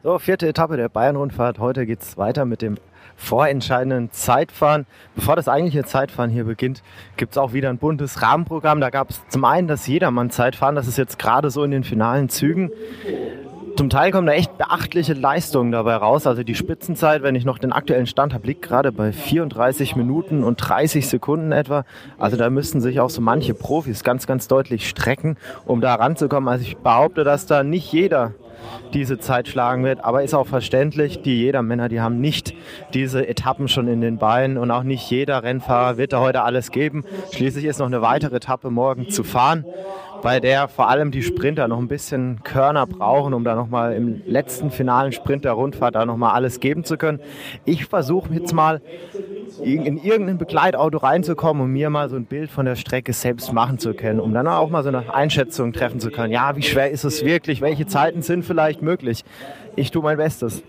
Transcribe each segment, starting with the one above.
So, 4. Etappe der Bayern-Rundfahrt. Heute geht es weiter mit dem vorentscheidenden Zeitfahren. Bevor das eigentliche Zeitfahren hier beginnt, gibt es auch wieder ein buntes Rahmenprogramm. Da gab es zum einen das Jedermann-Zeitfahren. Das ist jetzt gerade so in den finalen Zügen. Zum Teil kommen da echt beachtliche Leistungen dabei raus. Also die Spitzenzeit, wenn ich noch den aktuellen Stand habe, liegt gerade bei 34 Minuten und 30 Sekunden etwa. Also da müssten sich auch so manche Profis ganz, ganz deutlich strecken, um da ranzukommen. Also ich behaupte, dass da nicht jeder diese Zeit schlagen wird, aber ist auch verständlich, die Jedermänner, die haben nicht diese Etappen schon in den Beinen und auch nicht jeder Rennfahrer wird da heute alles geben. Schließlich ist noch eine weitere Etappe morgen zu fahren, bei der vor allem die Sprinter noch ein bisschen Körner brauchen, um da nochmal im letzten finalen Sprint der Rundfahrt da nochmal alles geben zu können. Ich versuche jetzt mal in irgendein Begleitauto reinzukommen, um mir mal so ein Bild von der Strecke selbst machen zu können, um dann auch mal so eine Einschätzung treffen zu können. Ja, wie schwer ist es wirklich? Welche Zeiten sind vielleicht möglich? Ich tue mein Bestes.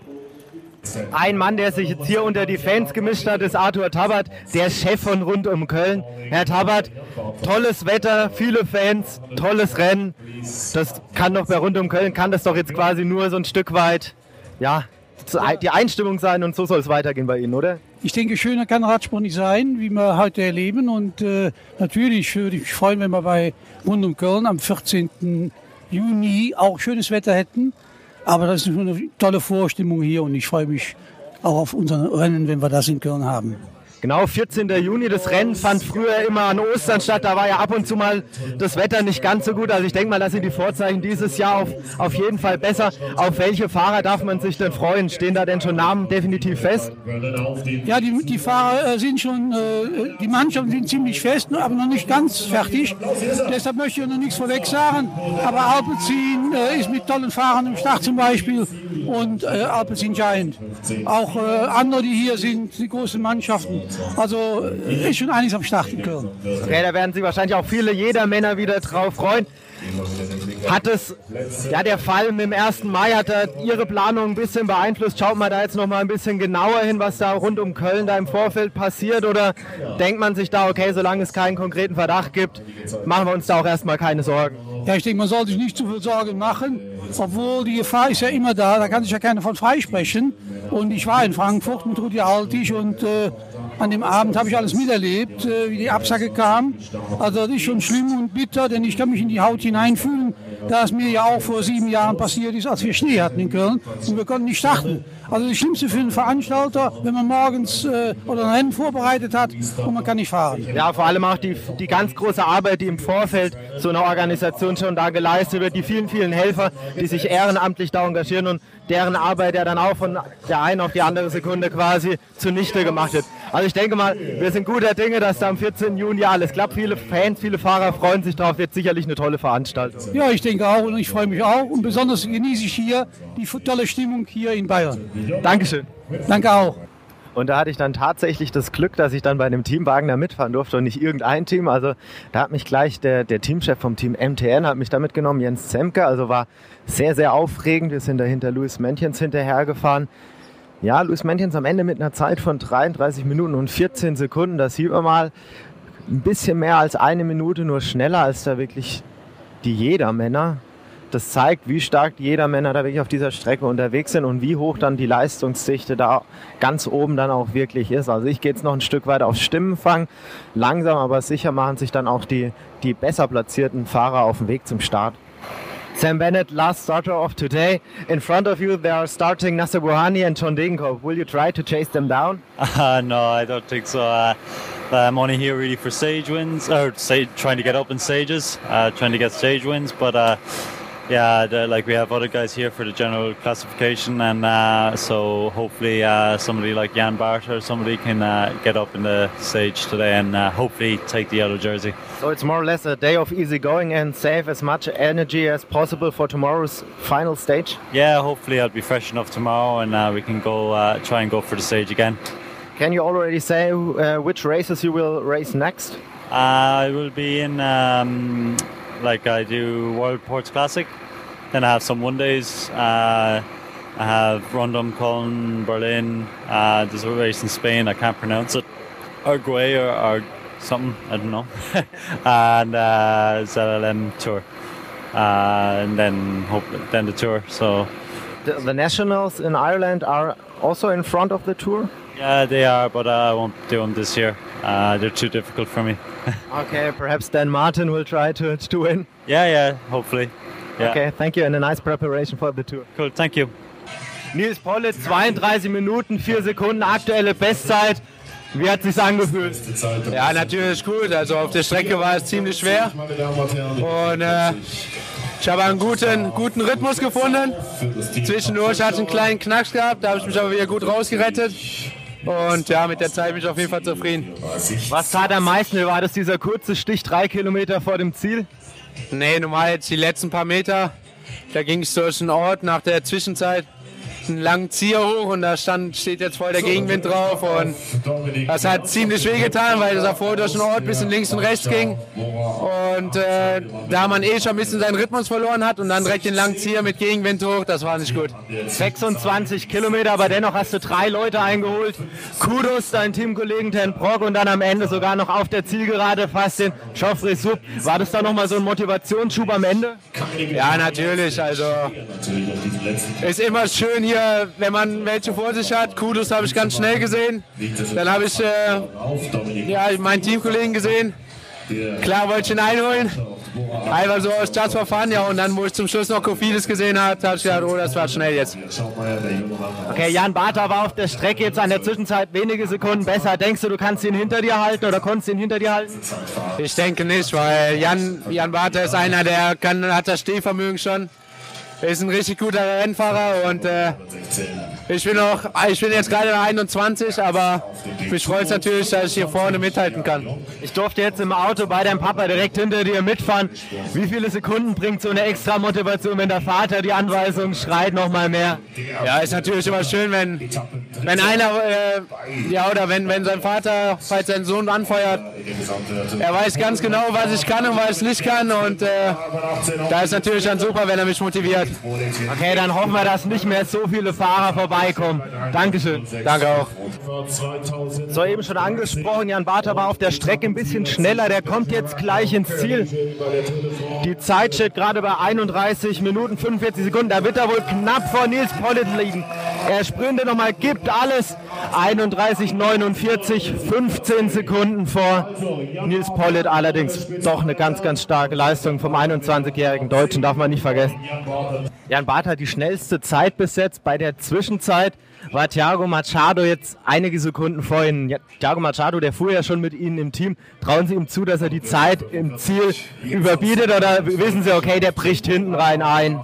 Ein Mann, der sich jetzt hier unter die Fans gemischt hat, ist Arthur Tabbert, der Chef von Rund um Köln. Herr Tabbert, tolles Wetter, viele Fans, tolles Rennen. Das kann doch bei Rund um Köln, kann das doch jetzt quasi nur so ein Stück weit, ja, die Einstimmung sein und so soll es weitergehen bei Ihnen, oder? Ich denke, schöner kann Radsport nicht sein, wie wir heute erleben. Und natürlich würde ich mich freuen, wenn wir bei Rund um Köln am 14. Juni auch schönes Wetter hätten. Aber das ist eine tolle Vorstimmung hier und ich freue mich auch auf unser Rennen, wenn wir das in Köln haben. Genau, 14. Juni, das Rennen fand früher immer an Ostern statt, da war ja ab und zu mal das Wetter nicht ganz so gut, also ich denke mal, da sind die Vorzeichen dieses Jahr auf jeden Fall besser. Auf welche Fahrer darf man sich denn freuen? Stehen da denn schon Namen definitiv fest? Ja, die Fahrer sind schon, die Mannschaften sind ziemlich fest, aber noch nicht ganz fertig, deshalb möchte ich noch nichts vorweg sagen, aber Alpecin ist mit tollen Fahrern im Start zum Beispiel und Alpecin Giant. Auch andere, die hier sind, die großen Mannschaften. Also ist schon einiges am Start in Köln. Okay, da werden sich wahrscheinlich auch viele Jedermänner wieder drauf freuen. Hat es, ja, der Fall mit dem 1. Mai, hat er Ihre Planung ein bisschen beeinflusst? Schaut man da jetzt noch mal ein bisschen genauer hin, was da rund um Köln da im Vorfeld passiert? Oder denkt man sich da, okay, solange es keinen konkreten Verdacht gibt, machen wir uns da auch erstmal keine Sorgen? Ja, ich denke, man soll sich nicht zu viel Sorgen machen, obwohl die Gefahr ist ja immer da kann sich ja keiner von freisprechen. Und ich war in Frankfurt mit Rudi Altig und an dem Abend habe ich alles miterlebt, wie die Absage kam. Also das ist schon schlimm und bitter, denn ich kann mich in die Haut hineinfühlen, da es mir ja auch vor 7 Jahren passiert ist, als wir Schnee hatten in Köln und wir konnten nicht starten. Also das Schlimmste für einen Veranstalter, wenn man morgens oder ein Rennen vorbereitet hat und man kann nicht fahren. Ja, vor allem auch die ganz große Arbeit, die im Vorfeld so einer Organisation schon da geleistet wird, die vielen, vielen Helfer, die sich ehrenamtlich da engagieren und deren Arbeit ja dann auch von der einen auf die andere Sekunde quasi zunichte gemacht wird. Also ich denke mal, wir sind guter Dinge, dass da am 14. Juni alles klappt. Viele Fans, viele Fahrer freuen sich drauf. Wird sicherlich eine tolle Veranstaltung. Ja, ich denke auch und ich freue mich auch. Und besonders genieße ich hier die tolle Stimmung hier in Bayern. Dankeschön. Danke auch. Und da hatte ich dann tatsächlich das Glück, dass ich dann bei einem Teamwagen da mitfahren durfte und nicht irgendein Team. Also da hat mich gleich der Teamchef vom Team MTN hat mich da mitgenommen, Jens Zemke. Also war sehr, sehr aufregend. Wir sind da hinter Luis Mentjens hinterhergefahren. Ja, Luis Mentjens am Ende mit einer Zeit von 33 Minuten und 14 Sekunden. Das sieht man mal, ein bisschen mehr als eine Minute, nur schneller als da wirklich die Jedermänner. Das zeigt, wie stark die Jedermänner da wirklich auf dieser Strecke unterwegs sind und wie hoch dann die Leistungsdichte da ganz oben dann auch wirklich ist. Also ich gehe jetzt noch ein Stück weiter auf Stimmenfang. Langsam, aber sicher machen sich dann auch die besser platzierten Fahrer auf den Weg zum Start. Sam Bennett, last starter of today. In front of you, they are starting Nasser Bouhanni and John Degenkolb. Will you try to chase them down? No, I don't think so. I'm only here really for stage wins, or trying to get up in stages, trying to get stage wins. But yeah, like we have other guys here for the general classification, and so hopefully somebody like Jan Barter or somebody can get up in the stage today and hopefully take the yellow jersey. So it's more or less a day of easy going and save as much energy as possible for tomorrow's final stage? Yeah, hopefully I'll be fresh enough tomorrow and we can go try and go for the stage again. Can you already say which races you will race next? I will be in, like I do World Ports Classic, then I have some one days. I have Rundum, Cologne, Berlin. There's a race in Spain, I can't pronounce it. Arguay or something, I don't know. And ZLM Tour. And then the Tour. So The nationals in Ireland are also in front of the tour? Yeah, they are, but I won't do them this year. They're too difficult for me. Okay, perhaps Dan Martin will try to win. Yeah, hopefully. Yeah. Okay, thank you and a nice preparation for the tour. Cool, thank you. Nils Politt, 32 Minuten, 4 Sekunden, aktuelle Bestzeit. Wie hat es sich angefühlt? Ja, natürlich gut. Also auf der Strecke war es ziemlich schwer. Und ich habe einen guten Rhythmus gefunden. Zwischendurch hatte ich einen kleinen Knacks gehabt, da habe ich mich aber wieder gut rausgerettet. Und ja, mit der Zeit bin ich auf jeden Fall zufrieden. Was tat am meisten? War das dieser kurze Stich 3 Kilometer vor dem Ziel? Nee, normal jetzt die letzten paar Meter. Da ging es durch einen Ort nach der Zwischenzeit. Einen langen Zieher hoch und da steht jetzt voll der Gegenwind drauf und das hat ziemlich wehgetan, weil es davor durch den Ort ein bisschen links und rechts ging und da man schon ein bisschen seinen Rhythmus verloren hat und dann direkt den langen Zieher mit Gegenwind hoch, das war nicht gut. 26 Kilometer, aber dennoch hast du 3 Leute eingeholt. Kudos deinen Teamkollegen Ten Broek und dann am Ende sogar noch auf der Zielgerade fast den Geoffrey Soup. War das da nochmal so ein Motivationsschub am Ende? Ja, natürlich, also ist immer schön hier, wenn man welche vor sich hat. Kudos habe ich ganz schnell gesehen. Dann habe ich meinen Teamkollegen gesehen. Klar wollte ich ihn einholen. Einfach so aus Just for Fun, ja, und dann, wo ich zum Schluss noch Kofidis gesehen habe, habe ich gedacht, oh, das war schnell jetzt. Okay, Jan Bata war auf der Strecke jetzt an der Zwischenzeit wenige Sekunden besser. Denkst du, du kannst ihn hinter dir halten oder konntest ihn hinter dir halten? Ich denke nicht, weil Jan Bata ist einer, der hat das Stehvermögen schon. Er ist ein richtig guter Rennfahrer und ich bin jetzt gerade 21, aber mich freut es natürlich, dass ich hier vorne mithalten kann. Ich durfte jetzt im Auto bei deinem Papa direkt hinter dir mitfahren. Wie viele Sekunden bringt so eine extra Motivation, wenn der Vater die Anweisung schreit, noch mal mehr? Ja, ist natürlich immer schön, wenn einer, oder wenn sein Vater, falls sein Sohn anfeuert, er weiß ganz genau, was ich kann und was ich nicht kann und da ist natürlich dann super, wenn er mich motiviert. Okay, dann hoffen wir, dass nicht mehr so viele Fahrer vorbeikommen. Dankeschön. Danke auch. So, eben schon angesprochen, Jan Bata war auf der Strecke ein bisschen schneller. Der kommt jetzt gleich ins Ziel. Die Zeit steht gerade bei 31 Minuten 45 Sekunden. Da wird er wohl knapp vor Nils Politt liegen. Er sprintet nochmal, gibt alles. 31,49, 15 Sekunden vor Nils Politt. Allerdings doch eine ganz, ganz starke Leistung vom 21-jährigen Deutschen, darf man nicht vergessen. Jan Bata hat die schnellste Zeit bis jetzt. Bei der Zwischenzeit war Thiago Machado jetzt einige Sekunden vor Ihnen. Thiago Machado, der fuhr ja schon mit Ihnen im Team. Trauen Sie ihm zu, dass er die Zeit im Ziel überbietet oder wissen Sie, okay, der bricht hinten rein ein?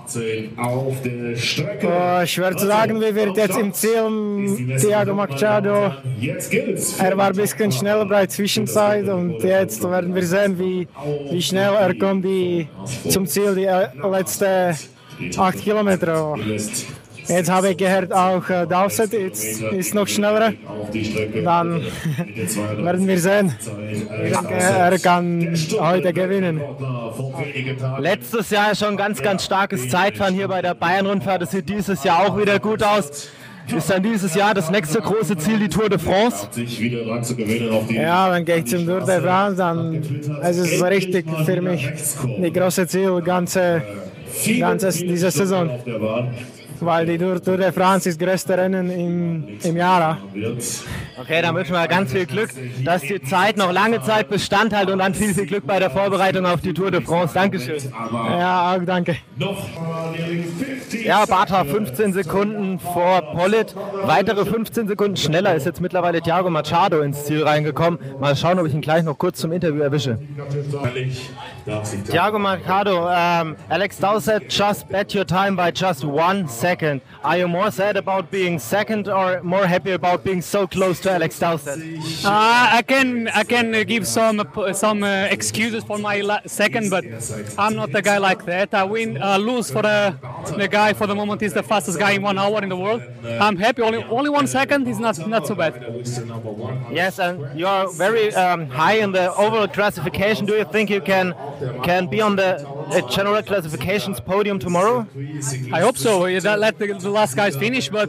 Schwer zu sagen, wie wird jetzt im Ziel Thiago Machado. Er war ein bisschen schneller bei der Zwischenzeit und jetzt werden wir sehen, wie schnell er kommt zum Ziel, die letzten 8 Kilometer. Jetzt habe ich gehört, auch Dowsett ist noch schneller. Dann werden wir sehen. Ich denke, er kann heute gewinnen. Letztes Jahr schon ganz, ganz starkes Zeitfahren hier bei der Bayern-Rundfahrt. Das sieht dieses Jahr auch wieder gut aus. Ist dann dieses Jahr das nächste große Ziel die Tour de France? Ja, dann gehe ich zum Tour de France, dann ist es richtig für mich das große Ziel, diese Saison. Weil die Tour de France ist das größte Rennen im Jahr. Okay, dann wünschen wir ganz viel Glück, dass die Zeit noch lange Zeit Bestand hat und dann viel, viel Glück bei der Vorbereitung auf die Tour de France. Dankeschön. Ja, auch danke. Ja, Bata 15 Sekunden vor Politt. Weitere 15 Sekunden schneller ist jetzt mittlerweile Thiago Machado ins Ziel reingekommen. Mal schauen, ob ich ihn gleich noch kurz zum Interview erwische. Thiago Machado, Alex Dowsett just bet your time by just 1 second. Are you more sad about being second or more happy about being so close to Alex Dowsett? I can give some excuses for my second, but I'm not a guy like that. I lose for the guy for the moment is the fastest guy in 1 hour in the world. I'm happy. Only 1 second is not so bad. Yes, and you're very high in the overall classification. Do you think you can be on the a general classifications podium tomorrow? I hope so. Let the last guys finish, but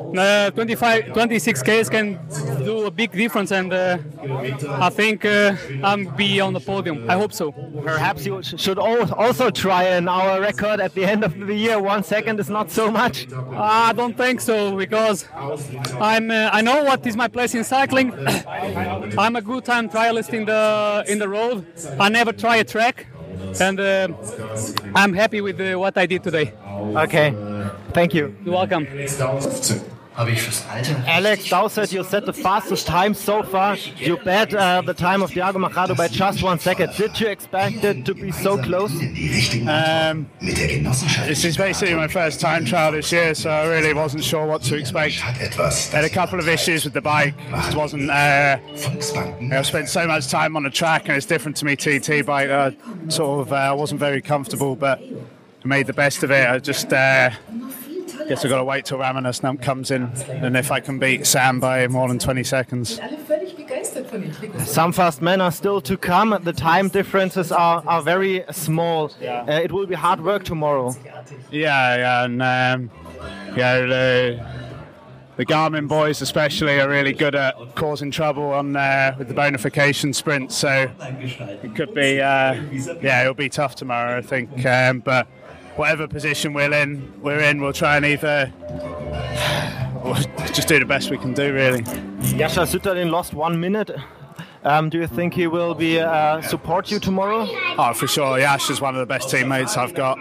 26Ks can do a big difference, and I think I'll be on the podium. I hope so. Perhaps you should also try an hour record at the end of the year. 1 second is not so much. I don't think so, because I know what is my place in cycling. I'm a good time trialist in the road. I never try a track, and I'm happy with what I did today. Okay, thank you. You're welcome. Alex Dowsett, you set the fastest time so far. You bet the time of Thiago Machado by just 1 second. Did you expect it to be so close? This is basically my first time trial this year, so I really wasn't sure what to expect. I had a couple of issues with the bike. It wasn't. I've spent so much time on the track, and it's different to me TT bike. I wasn't very comfortable, but I made the best of it. I just. Guess I've got to wait till Ramona Snump comes in, and if I can beat Sam by more than 20 seconds. Some fast men are still to come. The time differences are very small. Yeah. It will be hard work tomorrow. Yeah, and the Garmin boys especially are really good at causing trouble on with the bonification sprint, so it could be, it'll be tough tomorrow, I think, but whatever position we're in, we'll try and we'll just do the best we can do, really. Jascha Sütterlin lost 1 minute. Do you think he will be support you tomorrow? Oh, for sure. Yash is one of the best teammates I've got.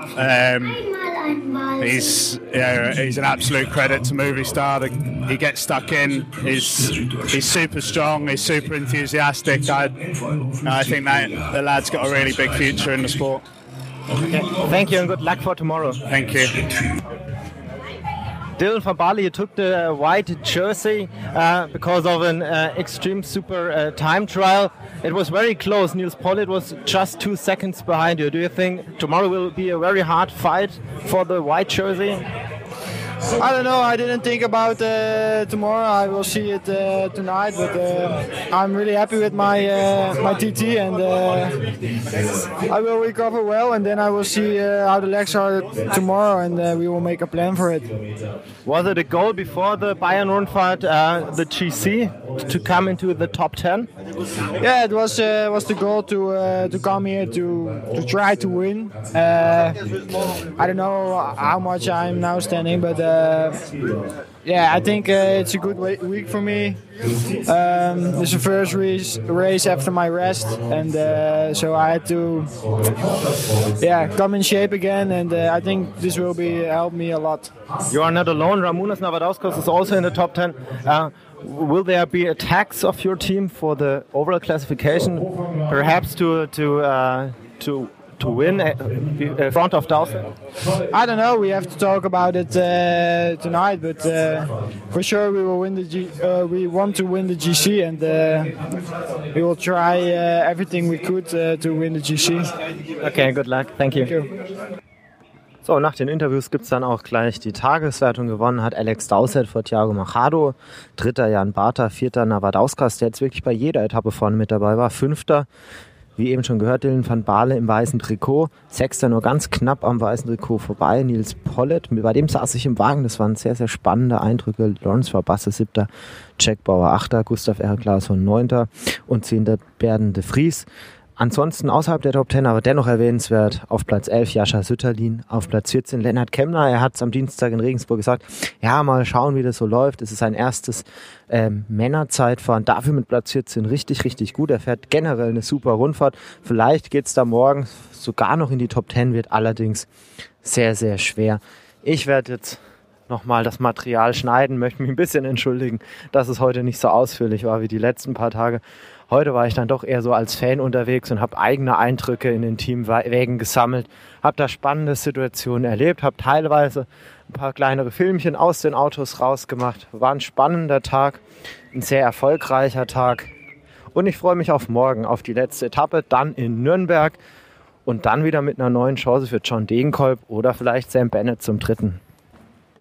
He's an absolute credit to Movistar. He gets stuck in. He's super strong. He's super enthusiastic. I think that the lad's got a really big future in the sport. Okay. Thank you and good luck for tomorrow. Thank you. Dylan van Baarle, you took the white jersey because of an extreme super time trial. It was very close. Nils Politt was just 2 seconds behind you. Do you think tomorrow will be a very hard fight for the white jersey? I don't know. I didn't think about tomorrow. I will see it tonight. But I'm really happy with my TT, and I will recover well. And then I will see how the legs are tomorrow, and we will make a plan for it. Was it a goal before the Bayern-Rundfahrt, the GC, to come into the top 10? Yeah, it was the goal to come here to try to win. I don't know how much I'm now standing, but I think it's a good week for me. It's the first race after my rest, and so I had to come in shape again, and I think this will help me a lot. You are not alone. Ramūnas Navadauskas is also in the top 10. Will there be attacks of your team for the overall classification, perhaps to win in front of Dowsett? I don't know. We have to talk about it tonight, but for sure we will win we want to win the GC, and we will try everything we could to win the GC. Okay, good luck. Thank you. Thank you. So, nach den Interviews gibt es dann auch gleich die Tageswertung. Gewonnen hat Alex Dowsett vor Thiago Machado, 3. Jan Bata, 4. Navadauskas, der jetzt wirklich bei jeder Etappe vorne mit dabei war, 5. Wie eben schon gehört, Dylan van Baarle im weißen Trikot, 6. nur ganz knapp am weißen Trikot vorbei, Nils Politt, bei dem saß ich im Wagen, das waren sehr, sehr spannende Eindrücke, Lorenz Verbasse 7., Jack Bauer 8., Gustav R. Claesson 9. und 10. Berden de Vries. Ansonsten außerhalb der Top 10, aber dennoch erwähnenswert, auf Platz 11 Jascha Sütterlin, auf Platz 14 Lennart Kemner. Er hat es am Dienstag in Regensburg gesagt, ja, mal schauen, wie das so läuft. Es ist sein erstes Männerzeitfahren, dafür mit Platz 14 richtig, richtig gut. Er fährt generell eine super Rundfahrt. Vielleicht geht es da morgen sogar noch in die Top 10, wird allerdings sehr, sehr schwer. Ich werde jetzt nochmal das Material schneiden, möchte mich ein bisschen entschuldigen, dass es heute nicht so ausführlich war wie die letzten paar Tage. Heute war ich dann doch eher so als Fan unterwegs und habe eigene Eindrücke in den Teamwägen gesammelt, habe da spannende Situationen erlebt, habe teilweise ein paar kleinere Filmchen aus den Autos rausgemacht. War ein spannender Tag, ein sehr erfolgreicher Tag und ich freue mich auf morgen, auf die letzte Etappe, dann in Nürnberg und dann wieder mit einer neuen Chance für John Degenkolb oder vielleicht Sam Bennett zum 3.